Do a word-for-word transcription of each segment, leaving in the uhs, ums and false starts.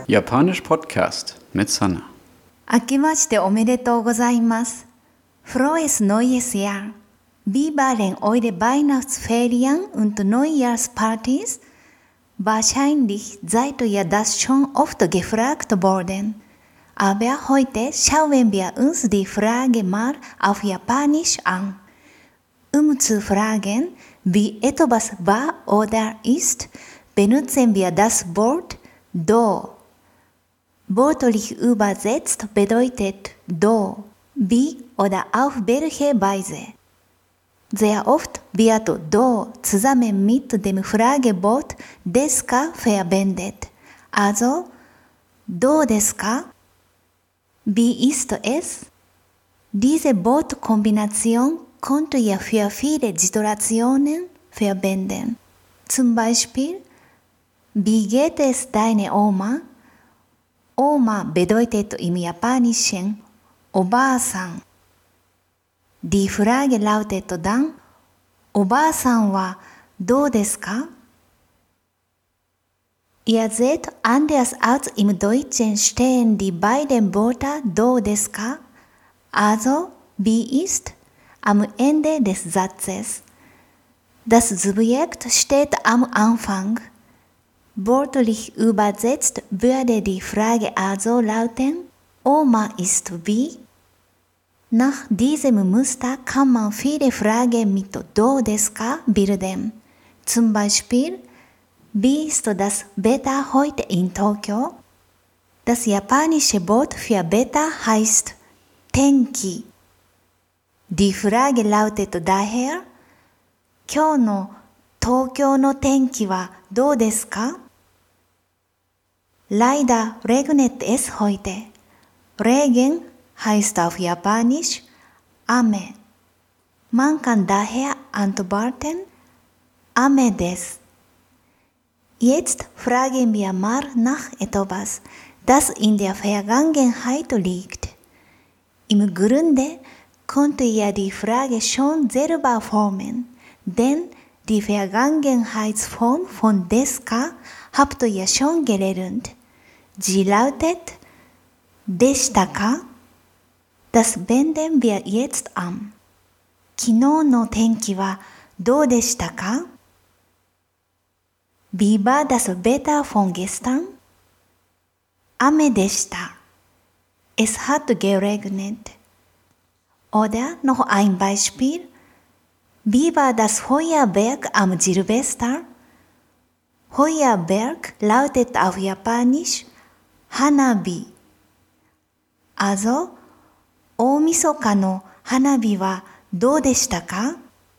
Japanisch Podcast mit Sana. 明けましておめでとうございます。Frohes neues Jahr. Wie waren eure Weihnachtsferien und Neujahrspartys? Wahrscheinlich seid ihr das schon oft gefragt worden. Aber heute schauen wir uns die Frage mal auf Japanisch an. Um zu fragen, wie etwas war oder ist, benutzen wir das Wort do. Wörtlich übersetzt bedeutet do, wie oder auf welche Weise. Sehr oft wird do zusammen mit dem Fragewort desu ka verwendet. Also, do desu ka? Wie ist es? Diese Wortkombination könnt ihr für viele Situationen verwenden. Zum Beispiel, wie geht es deiner Oma? Oma bedeutet im Japanischen Oba-san. Die Frage lautet dann, Oba-san wa do desu ka? Ihr seht, anders als im Deutschen stehen die beiden Wörter do desu ka, also wie ist, am Ende des Satzes. Das Subjekt steht am Anfang. Wörtlich übersetzt würde die Frage also lauten, Oma ist wie? Nach diesem Muster kann man viele Fragen mit do desu ka bilden. Zum Beispiel, wie ist das Wetter heute in Tokio? Das japanische Wort für Wetter heißt Tenki. Die Frage lautet daher, 今日の東京の天気はどうですか? Leider regnet es heute. Regen heißt auf Japanisch Ame. Man kann daher antworten Ame desu. Jetzt fragen wir mal nach etwas, das in der Vergangenheit liegt. Im Grunde könnt ihr die Frage schon selber formen, denn die Vergangenheitsform von desu ka habt ihr schon gelernt. Sie lautet deshita ka? Das wenden wir jetzt an. 昨日の天気はどうでしたか? Wie war das Wetter von gestern? Ame de shita. Es hat geregnet. Oder noch ein Beispiel. Wie war das Feuerwerk am Silvester? Feuerwerk lautet auf Japanisch Hanabi. Also, 大晦日の花火はどうでしたか?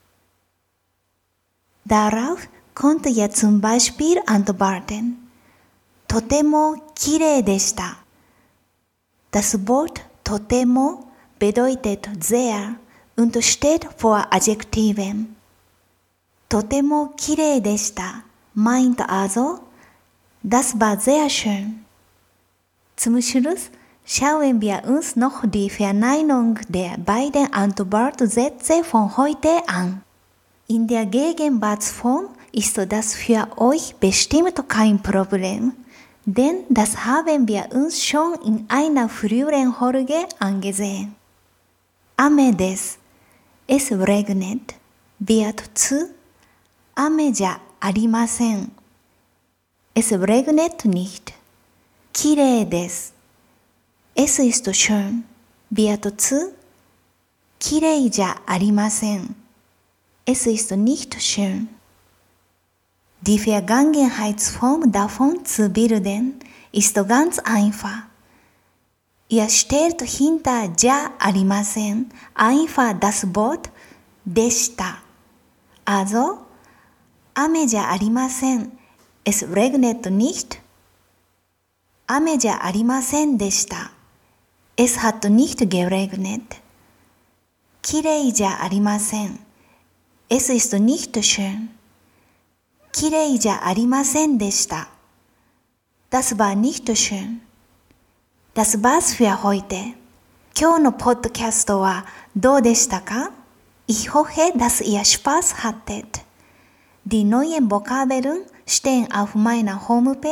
Darauf könnt ihr zum Beispiel antworten. とてもきれいでした. Das Wort とても bedeutet sehr und steht vor Adjektiven. とてもきれいでした meint also, das war sehr schön. Zum Schluss schauen wir uns noch die Verneinung der beiden Antwortsätze von heute an. In der Gegenwartsform ist das für euch bestimmt kein Problem, denn das haben wir uns schon in einer früheren Folge angesehen. Ame desu. Es regnet, wird zu Ame ja arimasen. Es regnet nicht. Kirei desu. Es ist schön, wird zu Kirei ja arimasen. Es ist nicht schön. Die Vergangenheitsform davon zu bilden, ist ganz einfach. Ihr stellt hinter ja arimasen einfach das Wort deshita. Also, Ame ja arimasen. Es regnet nicht. Ame ja arimasen deshita. Es hat nicht geregnet. Kirei ja arimasen. Es ist nicht schön. Kirei ja arimasen deshita. Das war nicht schön. Das war's für heute. 今日のポッドキャストはどうでしたか? Ich hoffe, dass ihr Spaß hattet. Die neuen Vokabeln stehen auf meiner Homepage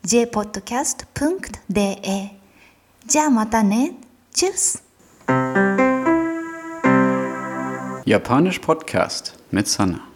ジェーポッドキャストドットデーエー。じゃあまたね。Tschüss! Japanisch Podcast mit Sanna.